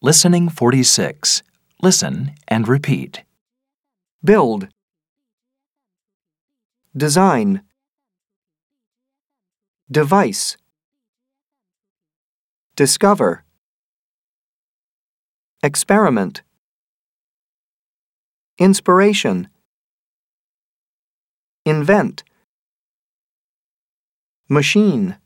Listening 46. Listen and repeat. Build. Design. Device. Discover. Experiment. Inspiration. Invent. Machine.